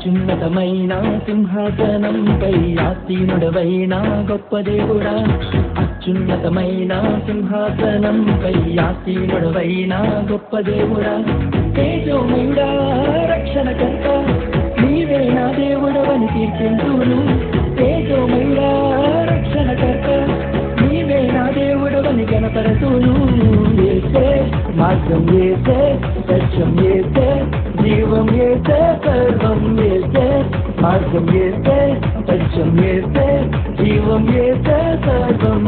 అత్యున్నతమైన సింహాసనంపై ఆసీనుడవైన గొప్ప దేవుడా, అత్యున్నతమైన సింహాసనంపై ఆసీనుడవైన గొప్ప దేవుడా, తేజోమయుడా రక్షణకర్త నీవే నా దేవుడవని కీర్తింతును. తేజోమయుడా రక్షణకర్త నీవే నా దేవుడవని కనపరతును. యేసే మార్గం, యేసే సత్యం, యేసే జీవం, యేసే సర్వం, యేసే మార్గం, యేసే సత్యం, యేసే జీవం, యేసే సర్వం.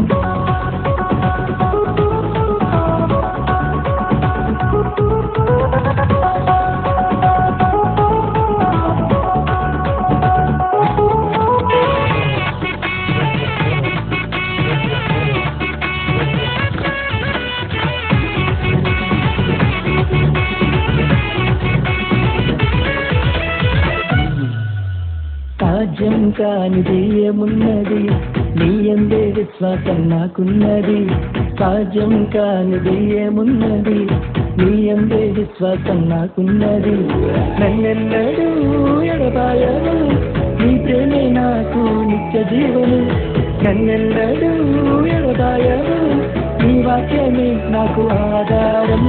సాధ్యం కానిది ఏమున్నది, నీ యందే విశ్వాసం నాకున్నది. సాధ్యం కానిది ఏమున్నది, నీ యందే విశ్వాసం నాకున్నది. నన్నెన్నడూ ఎడబాయవు, నీ ప్రేమే నాకు నిత్య జీవము. నన్నెన్నడూ ఎడబాయవు, నీ వాక్యమే నాకు ఆధారం.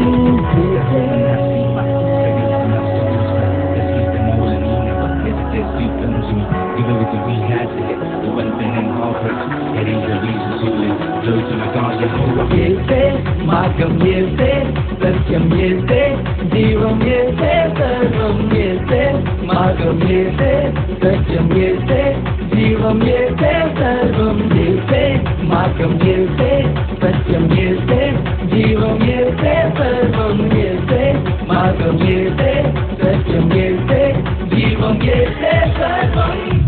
యేసే మార్గం, యేసే సత్యం, యేసే జీవం, యేసే సర్వం, యేసే మార్గం, యేసే సత్యం, యేసే జీవం, యేసే సర్వం. యేసే మార్గం, యేసే సత్యం, యేసే జీవం, యేసే సర్వం, యేసే మార్గం, యేసే సత్యం, యేసే జీవం, యేసే సర్వం.